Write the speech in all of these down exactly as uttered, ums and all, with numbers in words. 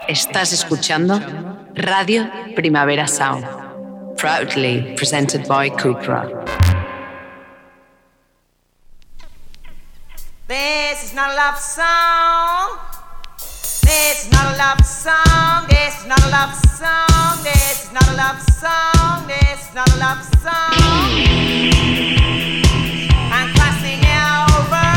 Estás escuchando Radio Primavera Sound, proudly presented by Cupra. This is not a love song. This is not a love song. This is not a love song. This is not a love song. This is not a love song. I'm crossing over.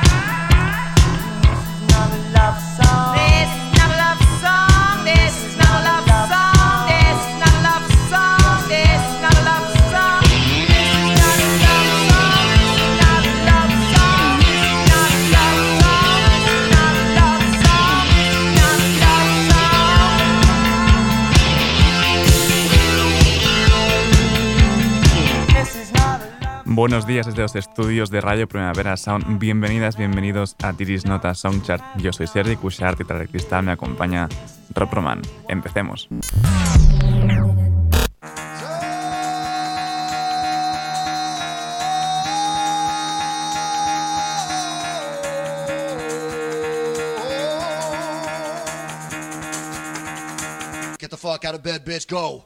This is not a love song. This is not a love song. This is not a love song. This is not a love song. This is not a love song. This is not a love song. Not a love song. Not a love song. Not a love song. Not a love song. This is not a love. Buenos días desde los estudios de Radio Primavera Sound. Bienvenidas, bienvenidos a Tiris Nota Songchart. Yo soy Sergi Cushart y tras el cristal me acompaña Rob Roman. Empecemos. Get the fuck out of bed, bitch, go.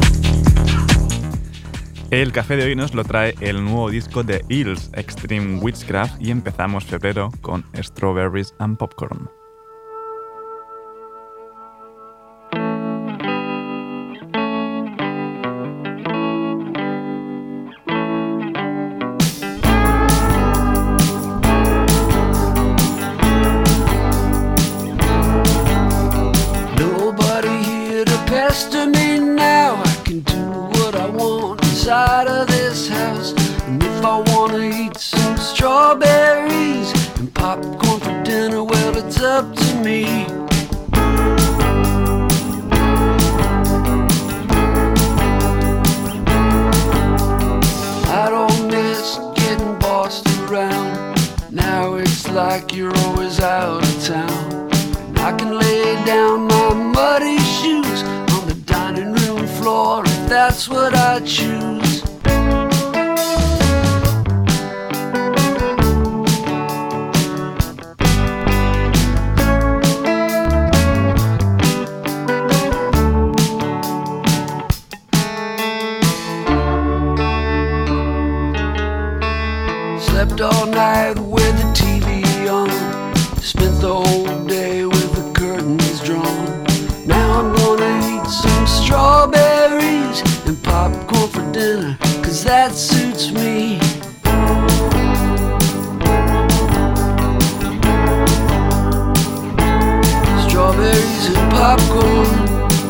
El café de hoy nos lo trae el nuevo disco de Eels, Extreme Witchcraft, y empezamos febrero con Strawberries and Popcorn. Nobody here to pester me now. I can do what I want inside of this house. And if I wanna eat some strawberries and popcorn for dinner, well, it's up to me. I don't miss getting bossed around. Now it's like you're always out of town. And I can lay down my muddy shoes on the dining room floor if that's what I choose. Slept all night with the T V on. Spent the whole day with the curtains drawn. Now I'm gonna eat some strawberries and popcorn for dinner, 'cause that suits me. Strawberries and popcorn.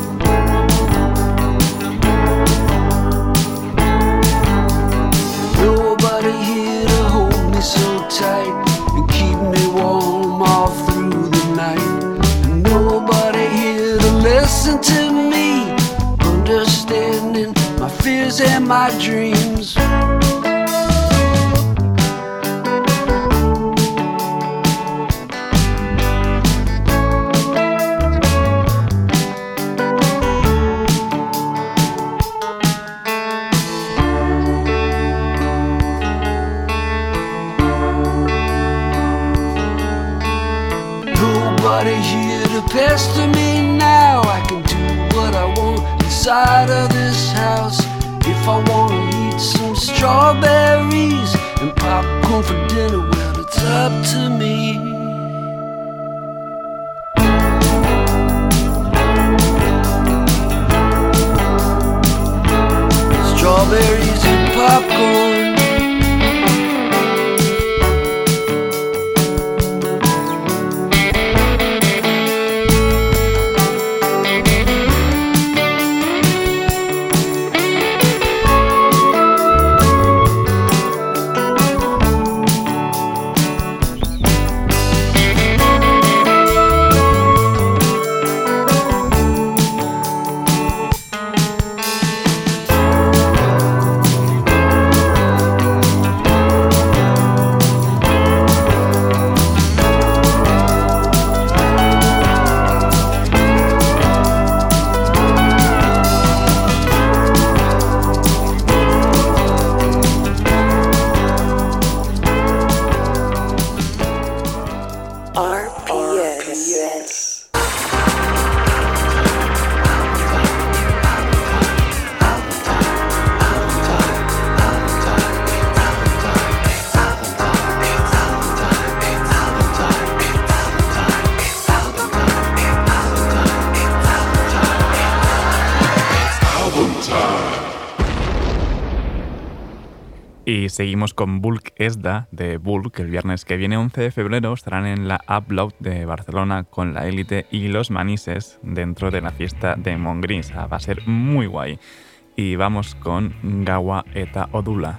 Nobody here to hold me so tight and keep me warm all through the night. And nobody here to listen to me, understanding my fears and my dreams. Nobody here to pester me now. I can do what I want inside of this house. If I wanna eat some strawberries and popcorn for dinner, well, it's up to me. Strawberries and popcorn. Y seguimos con Bulk Esda de Bulk. El viernes que viene, once de febrero, estarán en la Upload de Barcelona con La Élite y Los Manises dentro de la fiesta de Montgris. Va a ser muy guay. Y vamos con Gaua eta Odula.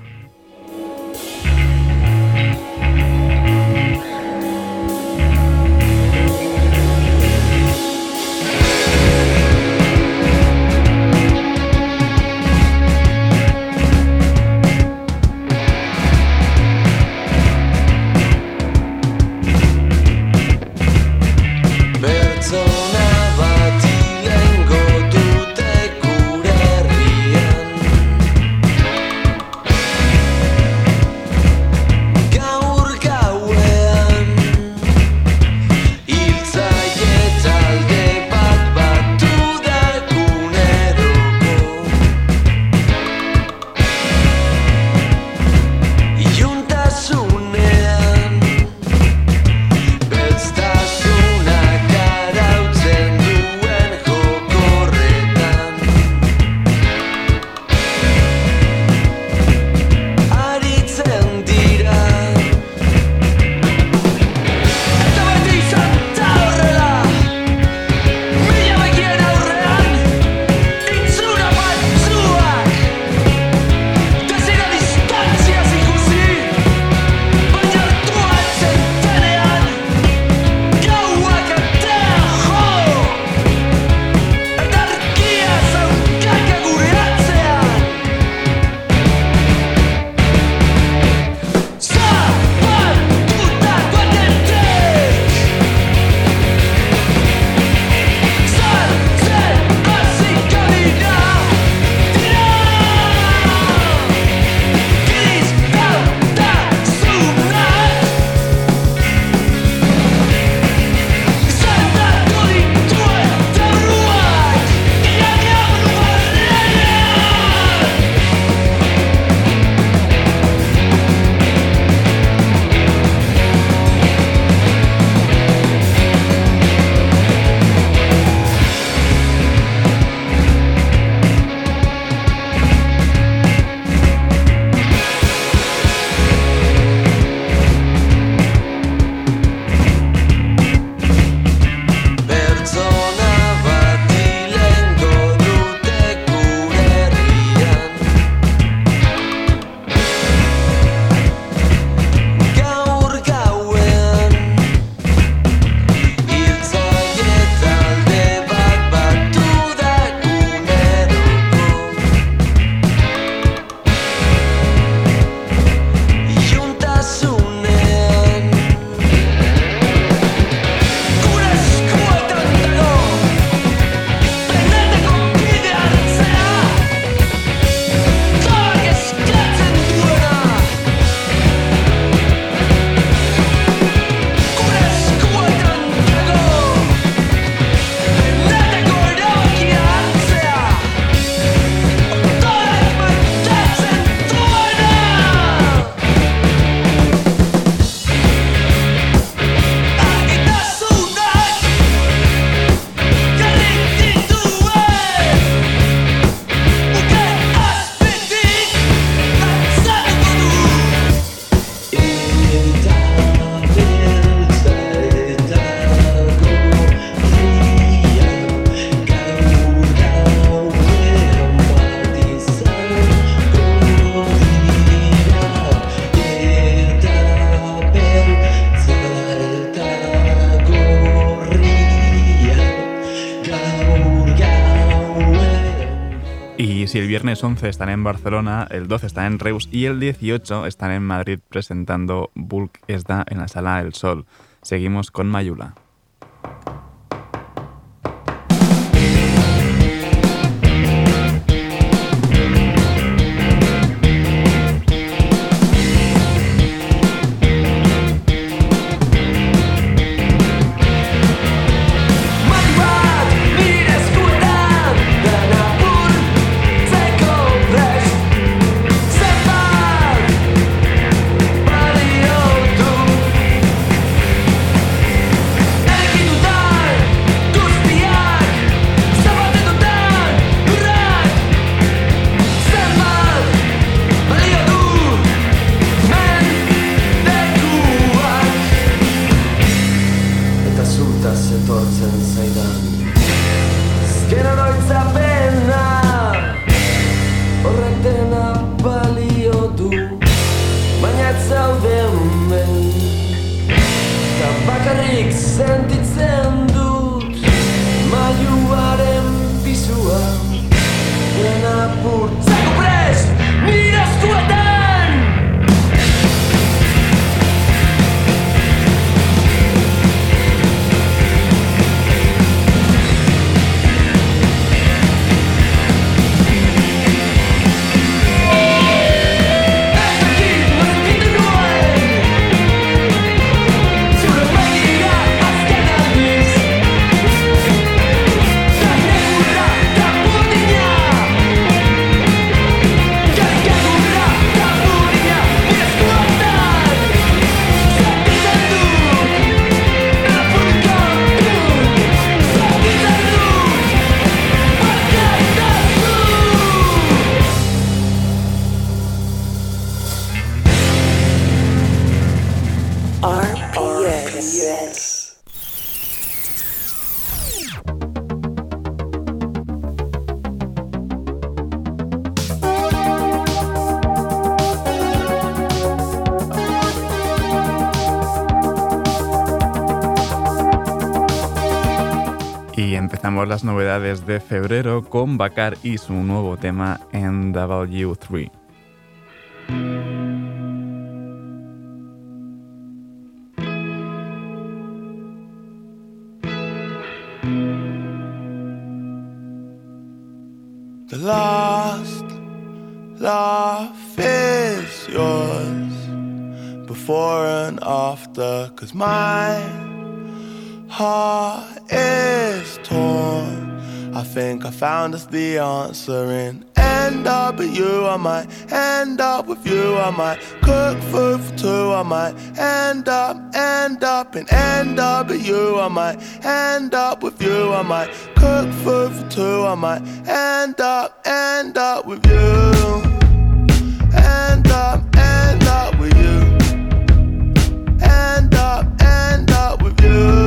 Si el viernes once están en Barcelona, el doce están en Reus y el dieciocho están en Madrid presentando Bulk Esda en la Sala El Sol. Seguimos con Mayula. Body on non oitza pena horrek dena balio du, baina ez zaude hemen eta bakarrik sentitzen dut mailuaren pisua dena purtzeko prest nire eskuetan. Empezamos las novedades de febrero con Bakar y su nuevo tema N W tres. The last laugh is yours, before and after, 'cause my heart is torn. I think I found us the answer in end up with you. I might end up with you. I might cook food for two. I might end up, end up and end up with you. I might end up with you. I might cook food for two. I might end up, end up with you. End up, end up with you. End up, end up with you.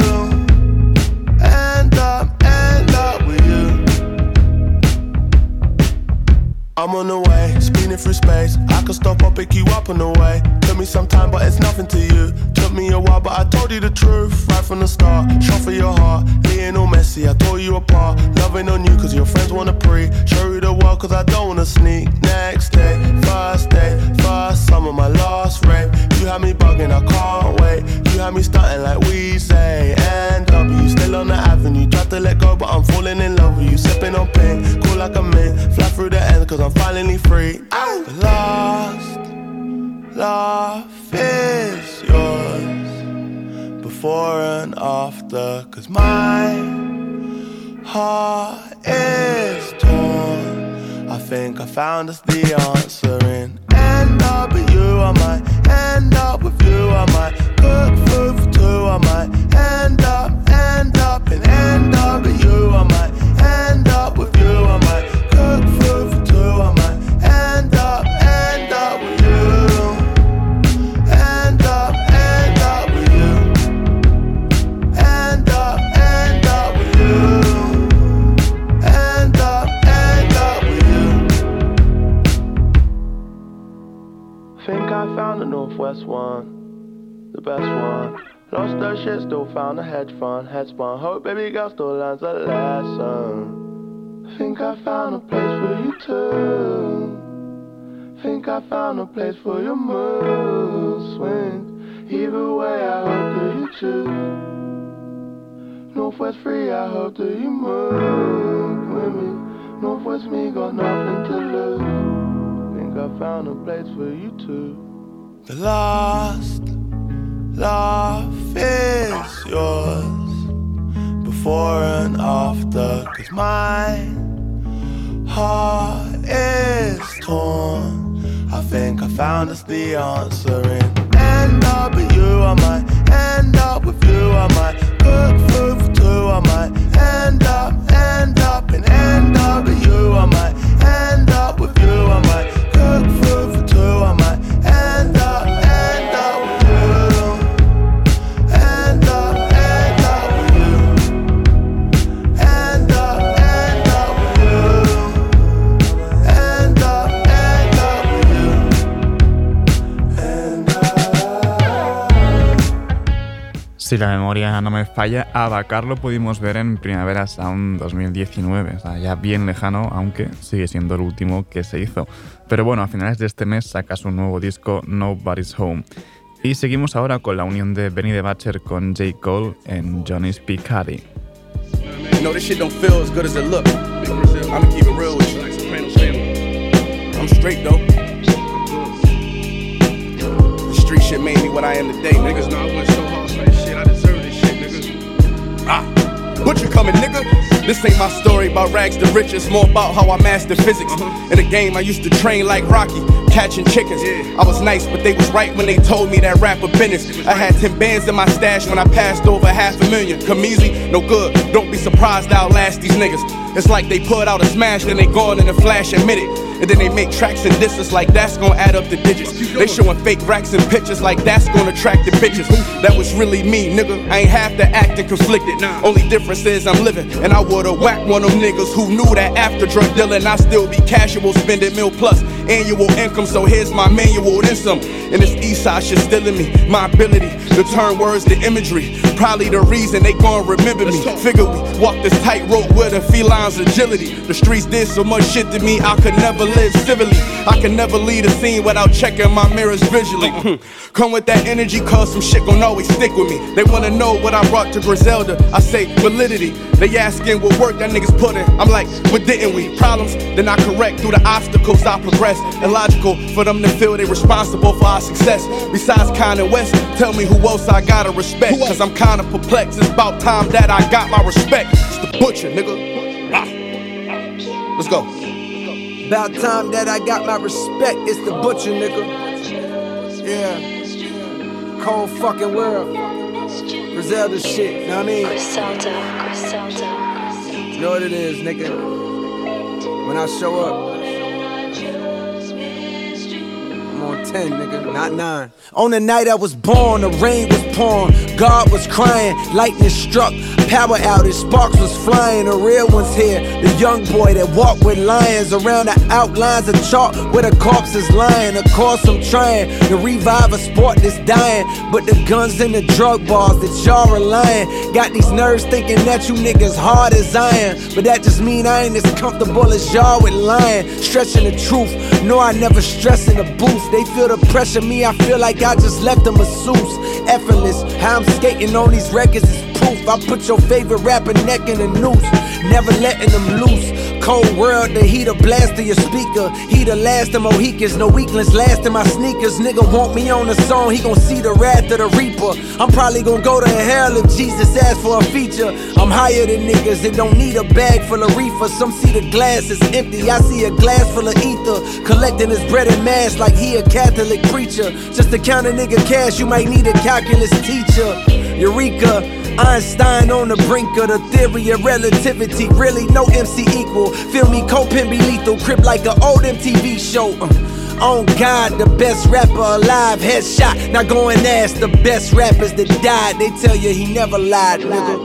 I'm on the way, spinning through space. I could stop or pick you up on the way. Took me some time, but it's nothing to you. Took me a while, but I told you the truth right from the start. Shot for your heart, Lionel Messi, I tore you apart. Loving on you, cause your friends wanna pre. Show you the world, cause I don't wanna sneak. Next day, first day, first summer, my last rape. You had me bugging, I can't wait. You had me stunting like we say. N W, still on the avenue. Tried to let go, but I'm falling in love with you. Sipping on pink, cool like a mint. Fly through the end, cause I'm finally free. Ow. The last laugh is yours, before and after, 'cause my heart is torn. I think I found us the answer in end up with you. I might end up with you. I might cook food for two. I might end up, end up and end up with you. I might end up with you. I might cook food for two. I might end up, end up with you. End up, end up with you. End up, end up with you. End up, end up with you. Think I found the Northwest one, the best one. Lost that shit, still found a hedge fund, head spun. Hope baby girl still learns a lesson. Think I found a place for you too. Think I found a place for your mood swings. Either way, I hope that you choose. Northwest free, I hope that you move with me. Northwest me, got nothing to lose. Think I found a place for you too. The last laugh is yours, before and after, 'cause my heart is torn. I think I found us the answer in end up with you. I might end up with you. I might cook food for two. I might end up, end up and end up with you. I might end up with you. I might cook food for two. I might end up, end up with you. End up, end up with you. End up, end Si la memoria no me falla, a Dakar lo pudimos ver en Primavera Sound dos mil diecinueve, o sea, ya bien lejano, aunque sigue siendo el último que se hizo. Pero bueno, a finales de este mes saca su nuevo disco Nobody's Home. Y seguimos ahora con la unión de Benny the Butcher con J. Cole en Johnny's P. Caddy. You know, this shit don't feel as good as it look. I'ma keep it real with you. I'm straight though. The street shit made me what I am today, niggas. Know I went so hard for this shit. I deserve this shit, nigga. Ah. Butcher coming, nigga. This ain't my story about rags to riches, more about how I mastered physics. Uh-huh. In the game, I used to train like Rocky, catching chickens. Yeah. I was nice, but they was right when they told me that rapper business. I had ten bands in my stash when I passed over half a million. Come easy, no good. Don't be surprised I'll last these niggas. It's like they put out a smash, then they gone in a flash, admit it. And then they make tracks and disses like that's gonna add up the digits. They showing fake racks and pictures like that's gonna attract the bitches. That was really me, nigga. I ain't have to act and conflicted. Only difference is I'm living, and I would've whacked one of them niggas who knew that after drug dealing I still be casual, spending mil plus annual income. So here's my manual, then some. And this east side shit still in me. My ability to turn words to imagery, probably the reason they gon' remember me. Figure we walk this tightrope with a feline's agility. The streets did so much shit to me I could never live civilly. I can never lead a scene without checking my mirrors visually. Come with that energy, cause some shit gon' always stick with me. They wanna know what I brought to Griselda. I say validity. They asking what work that niggas put in. I'm like, what didn't we? Problems, then I correct through the obstacles I progress. Illogical for them to feel they responsible for our success. Besides Kanye West, tell me who else I gotta respect. Cause I'm kinda perplexed. It's about time that I got my respect. It's the Butcher, nigga. Ah. Let's go. About time that I got my respect. It's the Butcher, nigga. Yeah. Cold fucking world. Griselda shit, know what I mean? Griselda, Griselda. You know what it is, nigga. When I show up, I'm on ten, nigga, not nine. On the night I was born, the rain was pouring, God was crying, lightning struck, power outage, sparks was flying. The real one's here, the young boy that walked with lions around the outlines of chalk where the corpse is lying. Of course I'm trying to revive a sport that's dying, but the guns and the drug bars that y'all relying got these nerves thinking that you niggas hard as iron. But that just mean I ain't as comfortable as y'all with lying, stretching the truth. No, I never stress in the booth. They feel the pressure, me I feel like I just left a masseuse. Effortless, how I'm skating on these records is proof. I put your favorite rapper neck in a noose, never letting them loose. Cold world, the heater blast of your speaker. He the last of Mohicans, no weaklings last in my sneakers. Nigga want me on the song, he gon' see the wrath of the reaper. I'm probably gon' go to hell if Jesus asks for a feature. I'm higher than niggas that don't need a bag full of reefer. Some see the glass is empty, I see a glass full of ether. Collecting his bread and mass like he a Catholic preacher. Just to count a nigga cash, you might need a calculus teacher. Eureka, Einstein on the brink of the theory of relativity. Really no M C equal. Feel me, Copen be lethal. Crip like an old M T V show. uh, On God, the best rapper alive. Headshot, now go and ask the best rappers that died. They tell you he never lied, nigga.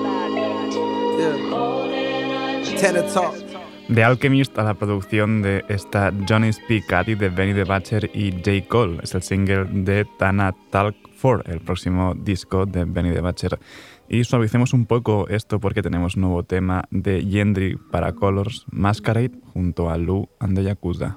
Yeah. Tenor talk. The Alchemist a la producción de esta Johnny's P. Caddy de Benny the Butcher y J. Cole. Es el single de Tana Talk cuatro, el próximo disco de Benny the Butcher. Y suavicemos un poco esto porque tenemos un nuevo tema de Yendri para Colors, Masquerade, junto a Lou and the Yakuza.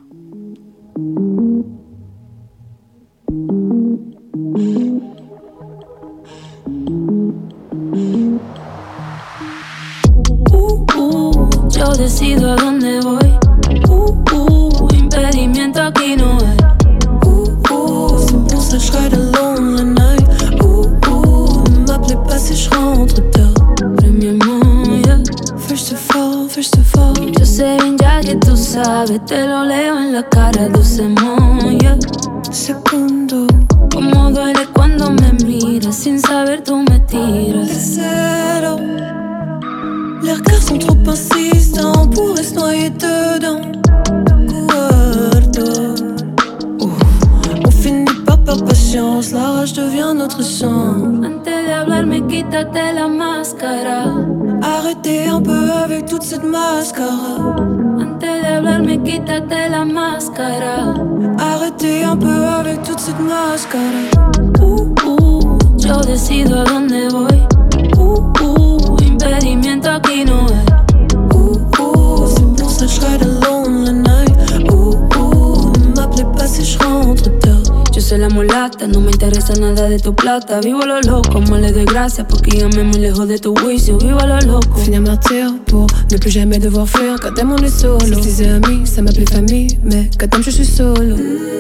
Yo decido a dónde voy. Uh, uh, impedimento aquí no hay. Uh, uh, c'est pour ça que je ride alone la night. Uh, uh, ne m'appelez pas si je rentre tard. Premièrement, yeah. First of all, first of all. Yo sé bien ya que tú sabes, te lo leo en la cara, dulcement, yeah. Segundo, como duele cuando me miras, sin saber tú me tiras. Tercero, les regards sont trop insistants, on pourrait se noyer dedans. Cuarto, on finit par perdre patience, la rage devient notre sang. Antes de hablarme, quítate la máscara. Arrêtez un peu avec toute cette mascara. Antes de hablarme, quítate la máscara. Arrêtez un peu avec toute cette mascara. Uh, uh, yo decido a dónde voy. Uh, uh, impedimento aquí no hay. Uh, uh, c'est pour ça que je ride alone la night. Uh, uh, ne m'appelez pas si je rentre tard. Yo soy la mulata, no me interesa nada de tu plata. Vivo a lo loco, moi le doy gracias porque ya me muy lejos de tu juicio. Vivo a lo loco. Finir martyr pour ne plus jamais devoir fuir. Quand t'aimes on est solo. Si je disais amis, ça m'appelait famille. Mais quand t'aimes je suis solo.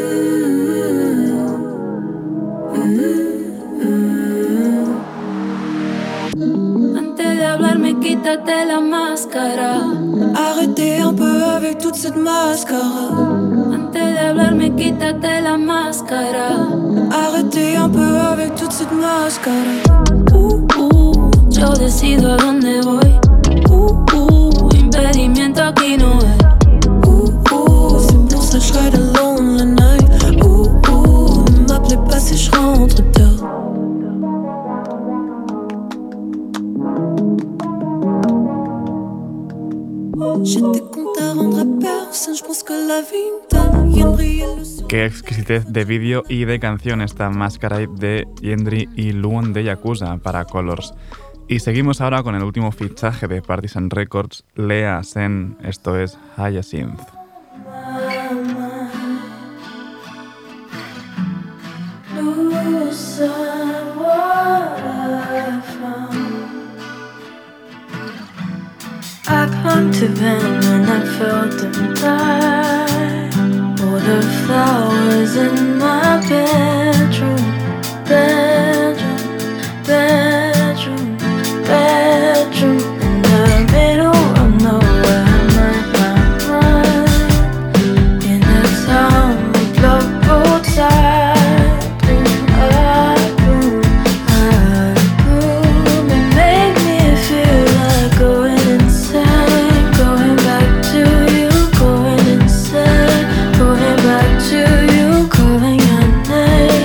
Antes de hablarme quítate la máscara. Arrêtez un peu avec toute cette mascara. Antes de hablarme quítate la máscara. Arrêtez un peu avec toute cette mascara. Uh, uh, yo decido a dónde voy. Uh, uh, impedimento aquí no hay. Uh, uh, c'est pour ça que je ride alone la night. Uh, uh, ne m'appelez pas si je rentre tard. J'ai des comptes à rendre à personne, je pense que la vie me donne rien briller le soir. Qué exquisitez de vídeo y de canción esta Masquerade de Yendri y Luon de Yakuza para Colors. Y seguimos ahora con el último fichaje de Partisan Records, Lea Sen, esto es Hyacinth. I clung to them and I felt them die. All the flowers in my bedroom, bedroom, bedroom, bedroom. In the middle of nowhere, my, my mind. In a town with love outside. Boom, I boom, I boom. It made me feel like going going back to you, going insane, going back to you, calling your name.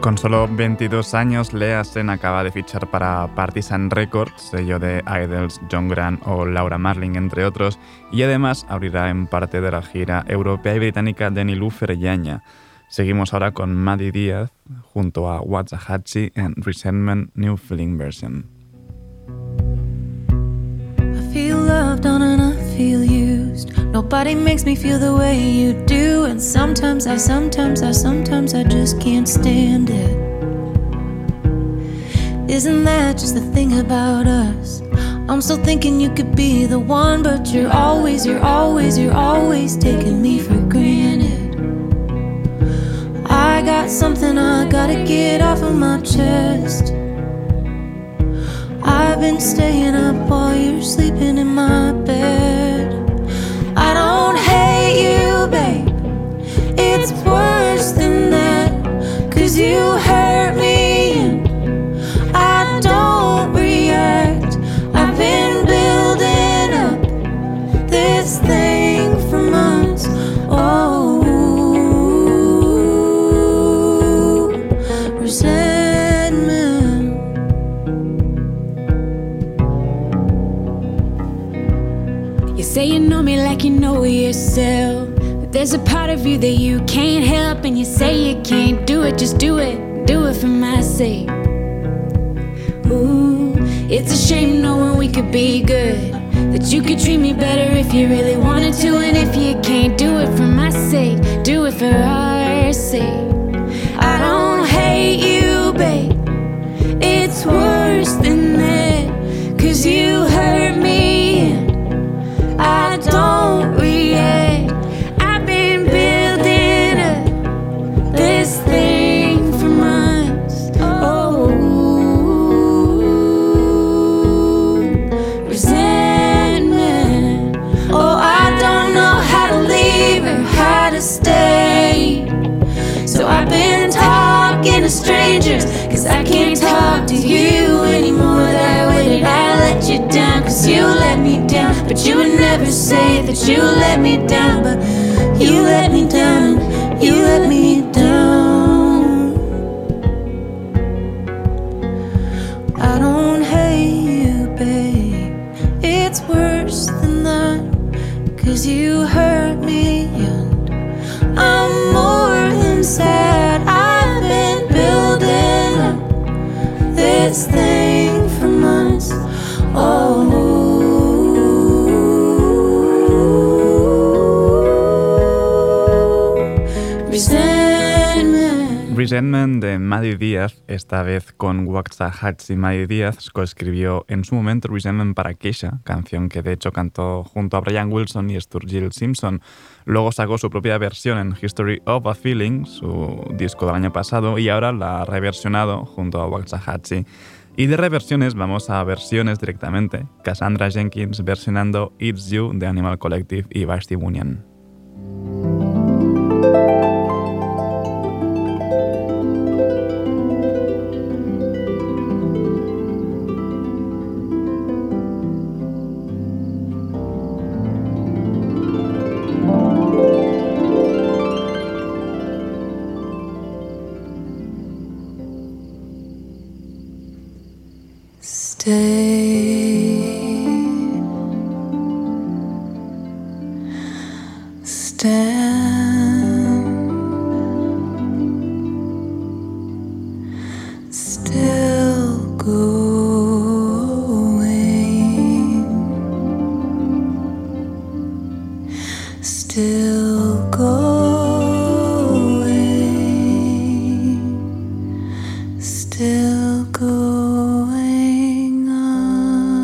Con solo veintidós años, Lea Sen acaba de fichar para Partisan Records, sello de Idols, John Grant o Laura Marling, entre otros, y además abrirá en parte de la gira europea y británica de Niloufer Yanya. Seguimos ahora con Maddie Díaz junto a Waxahachie en Resentment New Feeling Version. I feel loved on and I feel used. Nobody makes me feel the way you do. And sometimes I, sometimes I, sometimes I just can't stand it. Isn't that just the thing about us? I'm still thinking you could be the one, but you're always, you're always, you're always taking me for granted. I got something I gotta get off of my chest. I've been staying up while you're sleeping in my bed. I don't hate you, babe. It's worse than that. Cause you hurt me and I don't react. I've been building up this thing for months. Oh, resentment. You say you know me like you know yourself, but there's a part of you that you can't help. And you say you can't do it, just do it, do it for my sake. Ooh, it's a shame knowing we could be good, that you could treat me better if you really wanted to. And if you can't do it for my sake, do it for our sake. I don't hate you, babe. It's worse than that. Cause you hurt me and I don't react. I've been building up this thing for months. Oh, resentment. Oh, I don't know how to leave or how to stay. So I've been talking to strangers, cause I can't talk to you anymore. That way that I let you down, cause you let me down. But you would never say that you let me down. But you let me down, and you let me down. I don't hate you, babe. It's worse than that. Cause you hurt me and I'm more than sad. I've been building up this thing for months. Oh, resentment. Resentment de Maddie Díaz, esta vez con Waxahachie. Maddie Díaz coescribió en su momento Resentment para Keisha, canción que de hecho cantó junto a Brian Wilson y Sturgill Simpson. Luego sacó su propia versión en History of a Feeling, su disco del año pasado, y ahora la ha reversionado junto a Waxahachie. Y de reversiones vamos a versiones directamente. Cassandra Jenkins versionando It's You de Animal Collective y Vashti Bunyan. Stay, stand, still going, still going, still going on.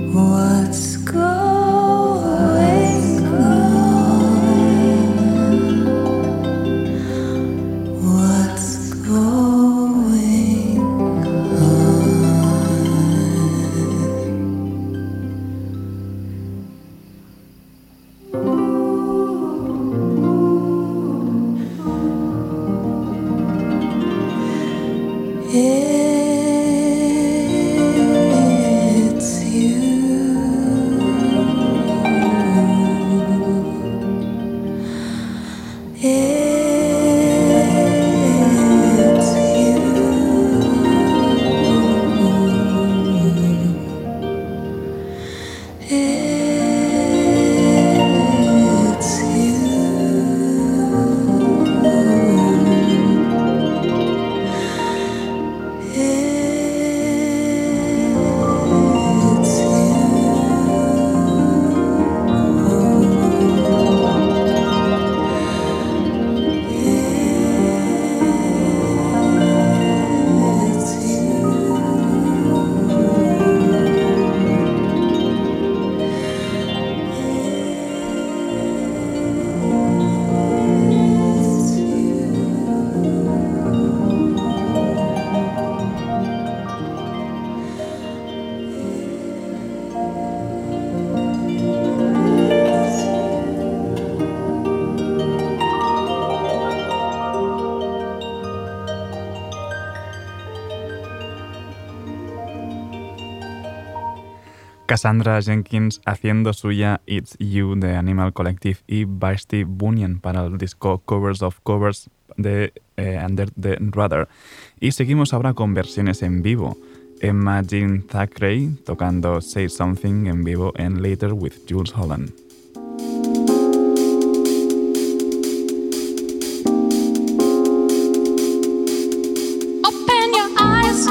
What's going on? What's going on? It's you. It's you. It's Cassandra Jenkins haciendo suya It's You de Animal Collective y Vashti Bunyan para el disco Covers of Covers de eh, Under the Radar. Y seguimos ahora con versiones en vivo. Emma Jean Thackeray tocando Say Something en vivo en Later with Jools Holland. Open your eyes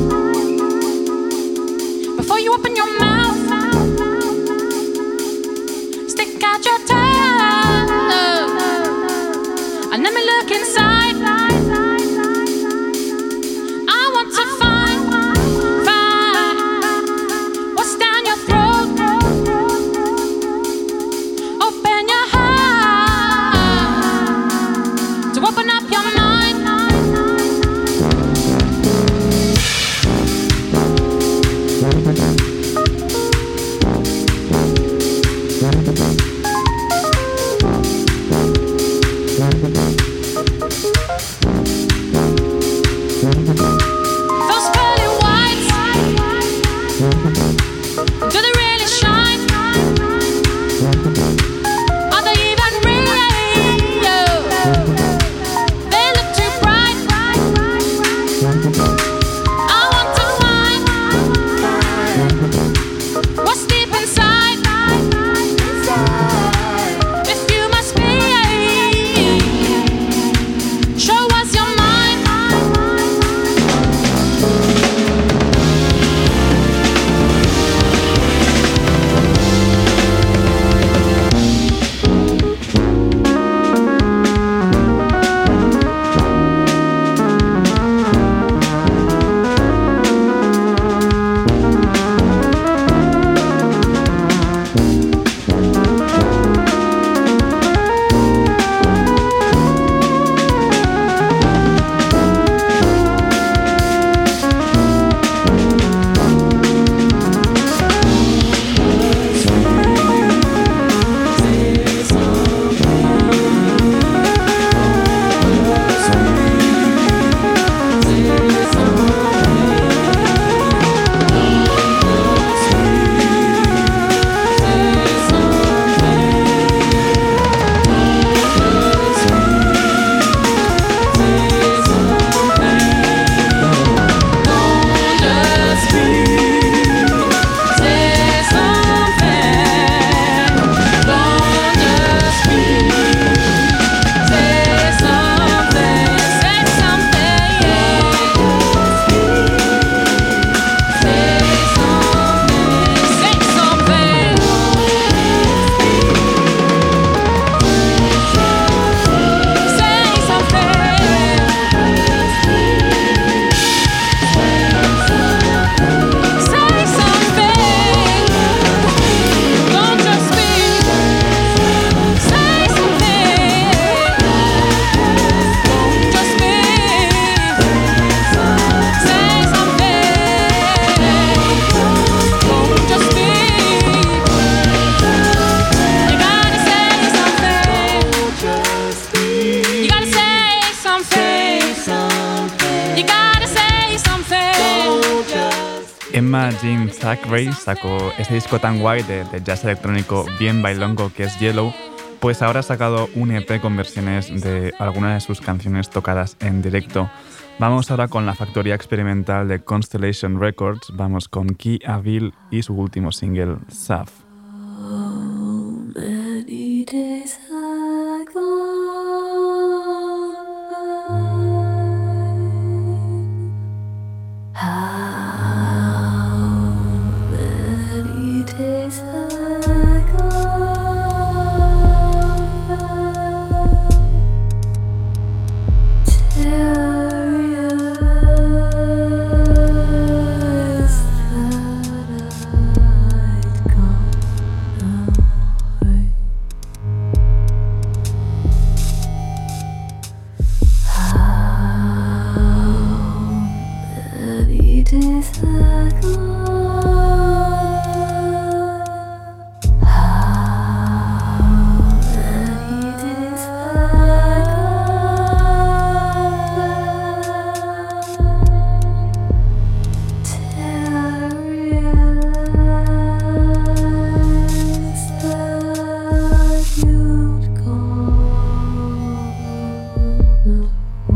before you open your mouth. Stick out your tongue and let me look inside. I want to find, find what's down your throat. Open your heart to open up your mind. Those pearly whites, do they really shine? Are they even real? They look too bright. I want to find what's deep inside. americana Jean Zachary sacó ese disco tan guay de, de jazz electrónico bien bailongo que es Yellow, pues ahora ha sacado un E P con versiones de algunas de sus canciones tocadas en directo. Vamos ahora con la factoría experimental de Constellation Records, vamos con Key Avil y su último single, Saf. Many days I go by. How many days I go by till I realize that I'd gone away. Days ago, how many days ago, till I realized that you'd gone away.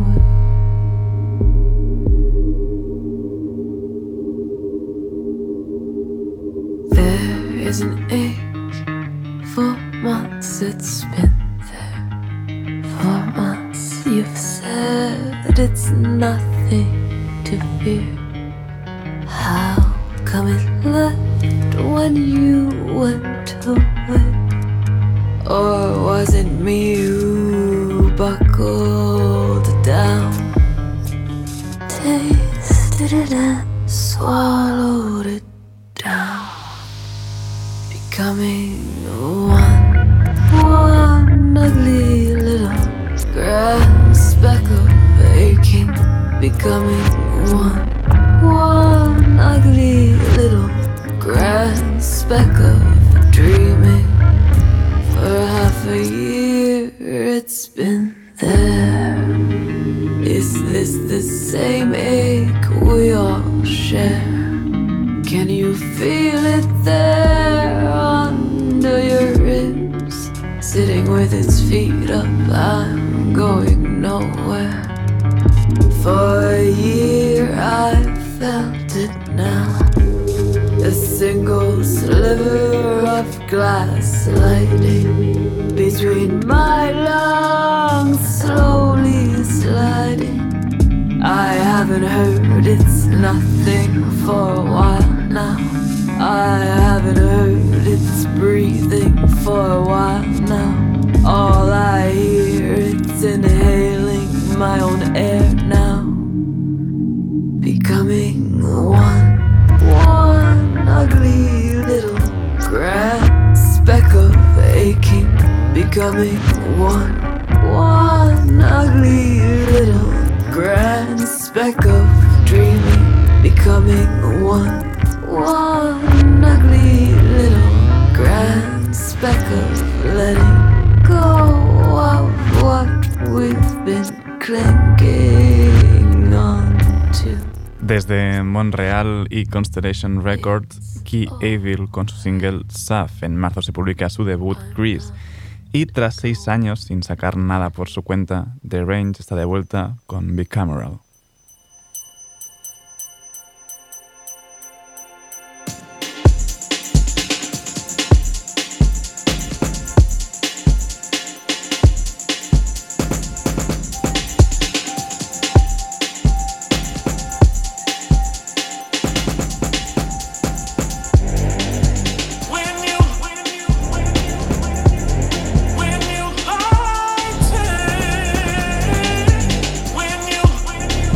There's an age, four months it's been there. Four months you've said it's nothing to fear. How come it left when you went away? Or was it me who buckled down? Tasted it and swallowed it down. Becoming one, one ugly little grass speck of aching. Becoming one, one ugly little grass speck of dreaming. For half a year it's been there. Is this the same ache we all share? Can you feel it there under your ribs? Sitting with its feet up, I'm going nowhere. For a year I felt it now. A single sliver of glass sliding between my lungs, slowly sliding. I haven't heard it's nothing for a while now. I haven't heard it's breathing for a while now. All I hear it's inhaling my own air now. Becoming one, one ugly little grass speck of aching. Becoming one, one ugly little grand speck of dreaming. Becoming one, one ugly little grand speck of letting go of what we've been clinging on to. Desde Montreal y Constellation Records, Key Avil con su single Saf. En marzo se publica su debut Grease. Y tras seis años sin sacar nada por su cuenta, The Range está de vuelta con Bicameral. When you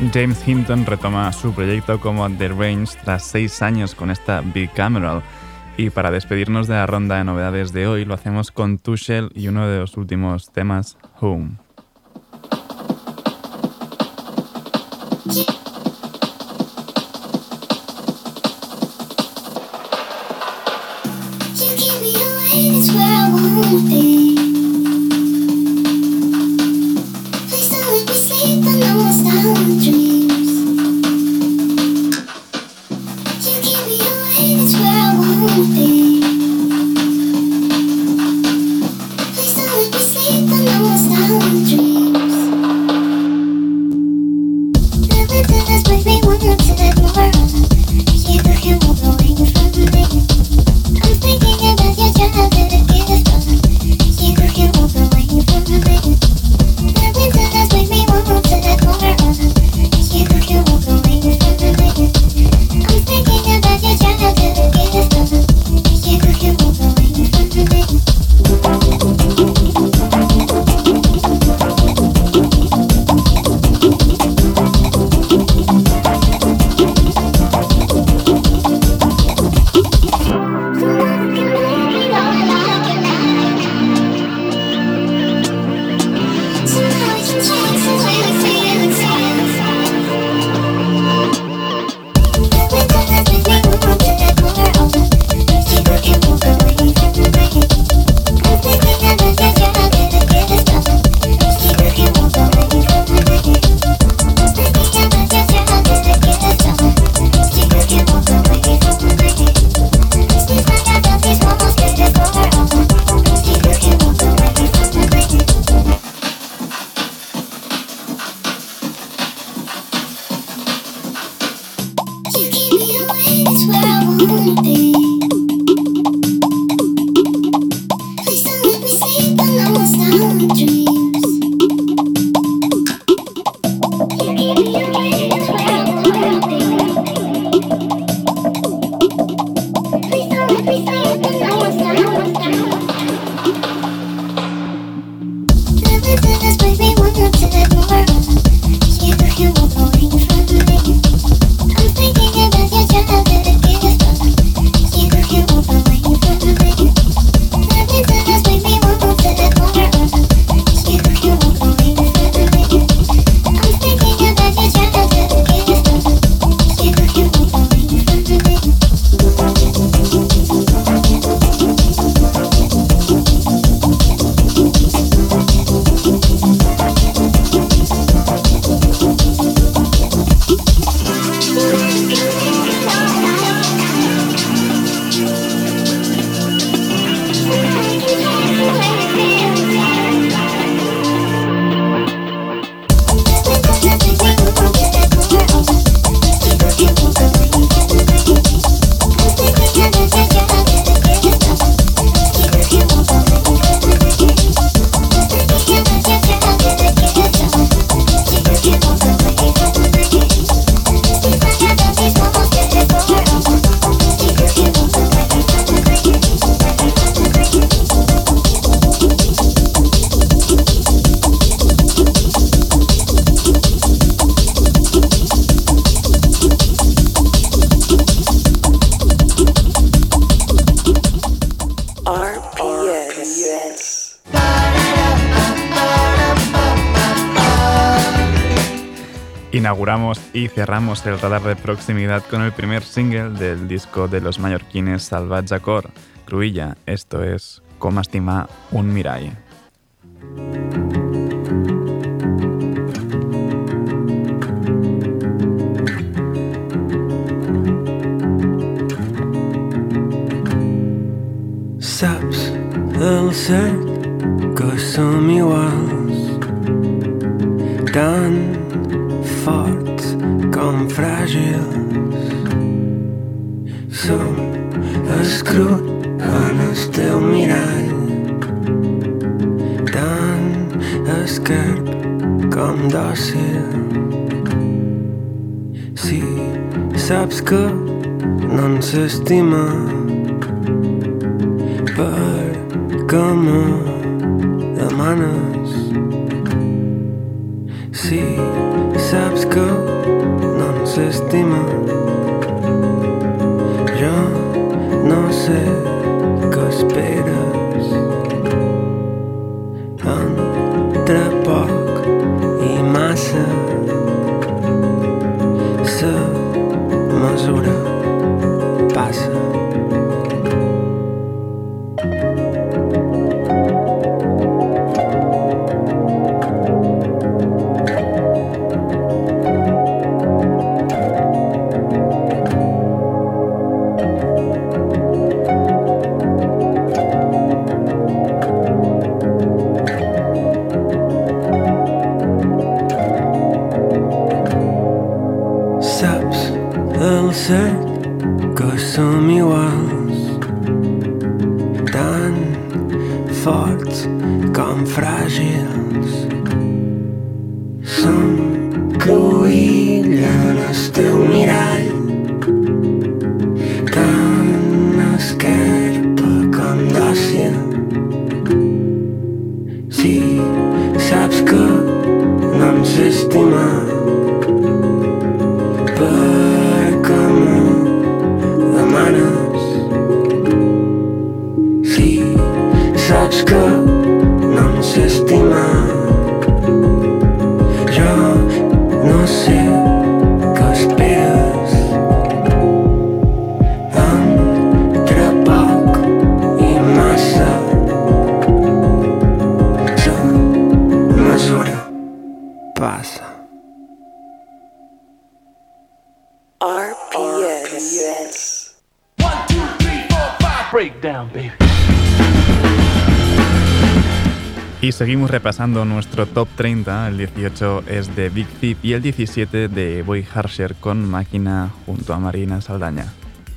James Hinton retoma su proyecto como The Range tras seis años con esta Bicameral. Y para despedirnos de la ronda de novedades de hoy, lo hacemos con Tushel y uno de los últimos temas, Home. Inauguramos y cerramos el radar de proximidad con el primer single del disco de los mallorquines Salvatge Cor, Cruïlla. Esto es Com estimar un mirall. Saps el cert que som iguals, tan forts com fràgils. Som escrut en el teu mirall, tan esquerp com dòcil. Si saps que no ens estima, per què me demanes? Si saps que se estima. Jo no sé què esperes. Entre poc i massa sa mesura passa. Cert que som iguals, tan forts com fràgils. Som cruïlla en el teu mirall, tan esquerpa com dòcil. Si saps que no em sé estimar, si saps que no em sé estimar, jo no sé què esperes. Entre poc i massa sa mesura passa. R P S. Breakdown, baby. Y seguimos repasando nuestro top treinta. El dieciocho es de Big Thief y el diecisiete de Boy Harsher con Máquina junto a Marina Saldaña.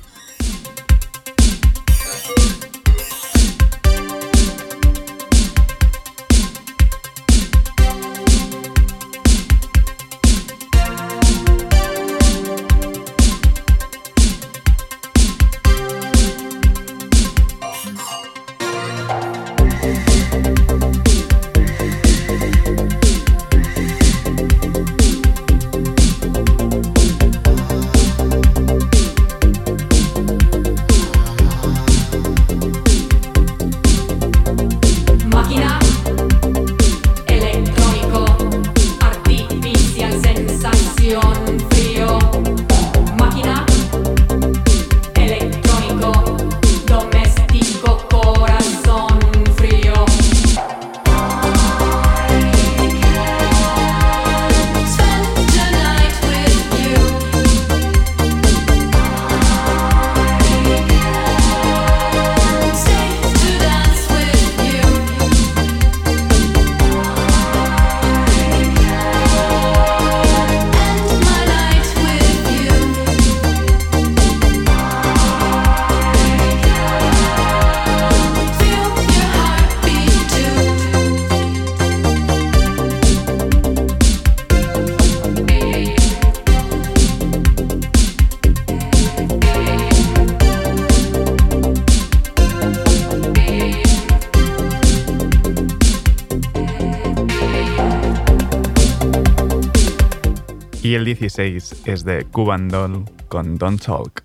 Y el dieciséis es de Cuban Doll con Don't Talk.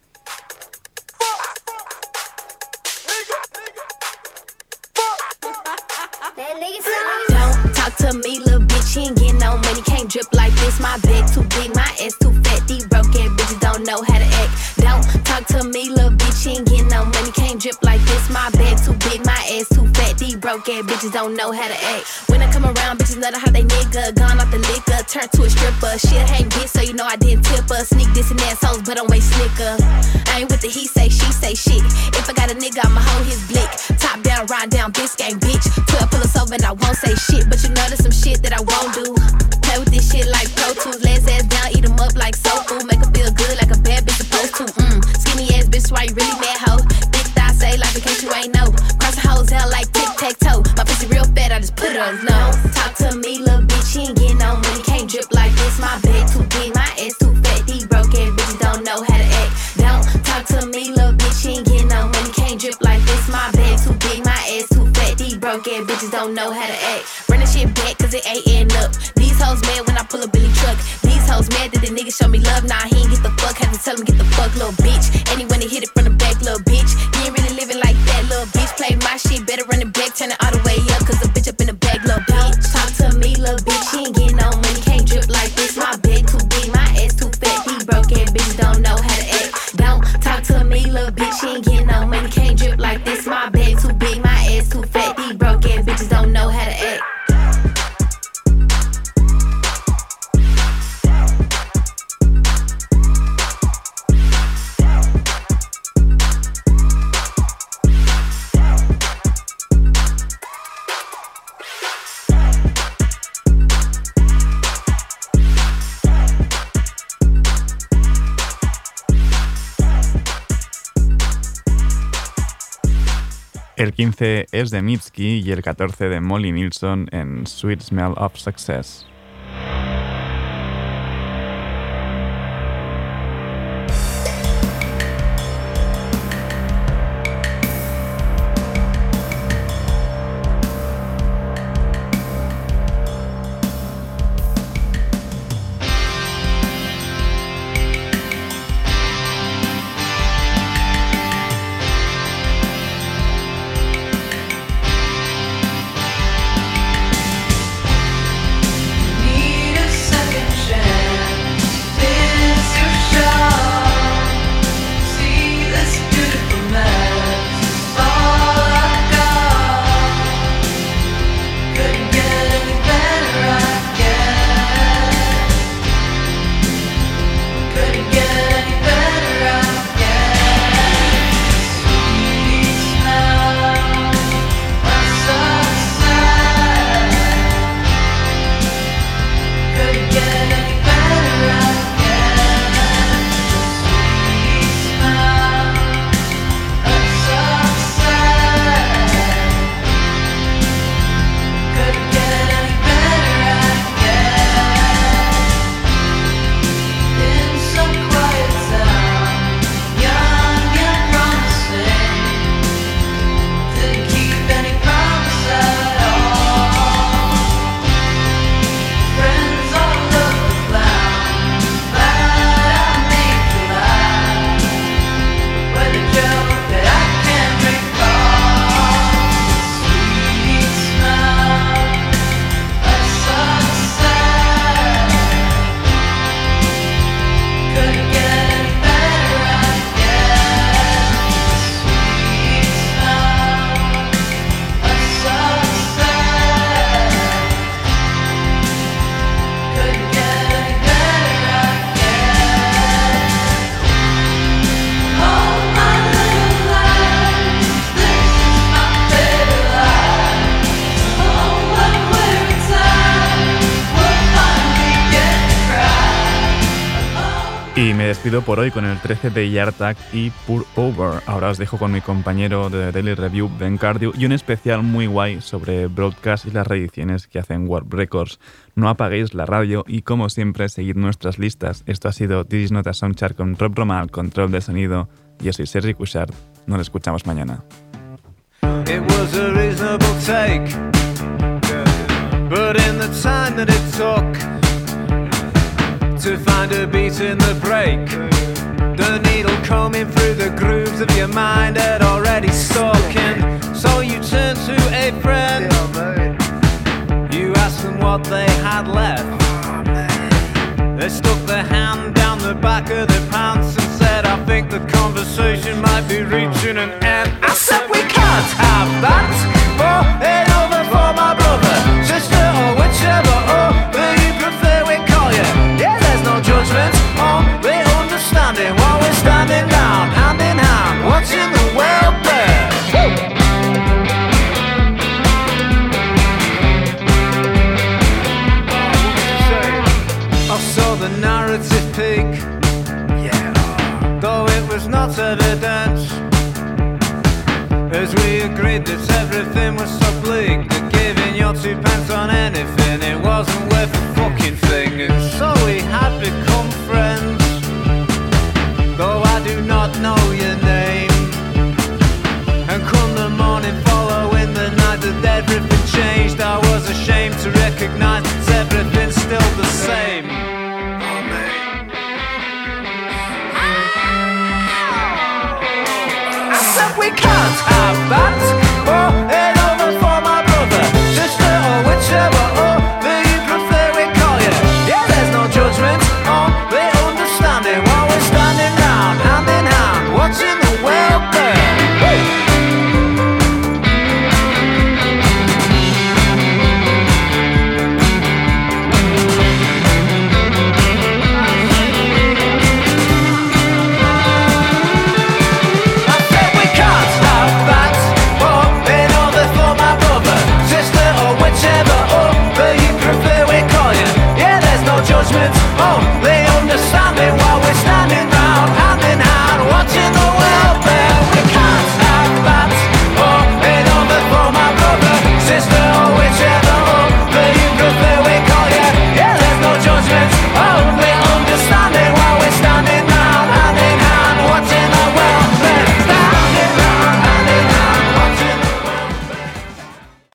Don't talk to me, little bitch, you ain't getting no money, can't drip like this. My bag too big, my ass too fat, these broke ass bitches don't know how to act. Don't talk to me, little bitch, you ain't getting no money, can't drip like this. My bag too big, my ass too fat, these broke ass bitches don't know how to act. When I come around, bitches know how they nigga, gone off the liquor, turn to a stripper. Shit hang bitch, so you know I didn't tip her. Sneak this and assholes, but don't waste snicker. I ain't with the he say, she say shit. If I got a nigga, I'ma hold his blick. Top down, ride down, Biscayne, bitch. twelve pull us over and I won't say shit, but you know there's some shit that I won't do. Play with this shit like Pro Tools, legs ass down, eat them up like soul food. Make her feel good like a bad bitch supposed to. Mm. Skinny ass bitch, why you really mad, hoe? Big thigh say like in case you ain't know. Cross the hoes out like tic-tac-toe. My pussy real fat, I just put it on his nose. Talk to me, little bitch, she ain't getting no money, can't drip like this. My bag too big, my ass too fat, these broke ass bitches don't know how to act. Don't talk to me, little bitch, she ain't getting no money, can't drip like this. My bag too big, my ass too fat, these broke ass bitches don't know how to act. Run the shit back cause it ain't adding up. These hoes mad when I pull a Billy truck. These hoes mad that the a nigga show me love, nah, he ain't get the fuck. Had to tell him get the fuck, little bitch. And he went and hit it from the back, little bitch. You ain't really living like that, little bitch. Play my shit, better run it back, turn it all the way up, cause the bitch up in the back, little bitch. Talk to me, little bitch, she ain't getting no money, can't drip like this. My bag too big, my ass too fat. He broke ass bitch, don't know how to act. Don't talk to me, little bitch, she ain't getting no money, can't drip like this. My bag too big, my ass too fat. These broke ass bitches don't know how to act. El quince es de Mitski y el catorce de Molly Nilsson en Sweet Smell of Success. Y me despido por hoy con el trece de Yartak y Pour Over. Ahora os dejo con mi compañero de Daily Review, Ben Cardew, y un especial muy guay sobre broadcast y las reediciones que hacen Warp Records. No apaguéis la radio y, como siempre, seguid nuestras listas. Esto ha sido This Is Not a Soundchart con Rob Roma al control de sonido. Yo soy Sergi Cuixart. Nos escuchamos mañana. It was a reasonable take, but in the time that it took to find a beat in the break, the needle combing through the grooves of your mind had already stuck in. So you turned to a friend, you asked them what they had left. They stuck their hand down the back of their pants and said, I think the conversation might be reaching an end. I said we can't have that, pour it over for my brother, sister or whichever other you prefer we call you. Yeah, there's no judgment, only understanding while we're standing down, hand in hand, watching the world burn. I saw the narrative peak, yeah, though it was not evident, as we agreed that everything was so bleak, that giving your two pence on anything, it wasn't worth a fucking thing. And so we had become friends, though I do not know your name. And come the morning following the night that everything changed, I was ashamed to recognise that everything's still the same. we can't have that.